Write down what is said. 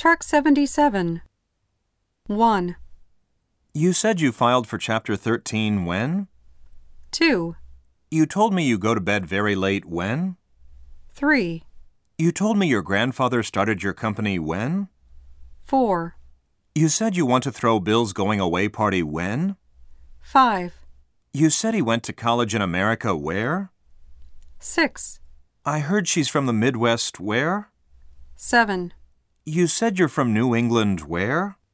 Track 77. 1, You said you filed for Chapter 13 when? 2, You told me you go to bed very late when? 3, You told me your grandfather started your company when? 4, You said you want to throw Bill's going-away party when? 5, You said he went to college in America where? 6, I heard she's from the Midwest where? 7. You said you're from New England where?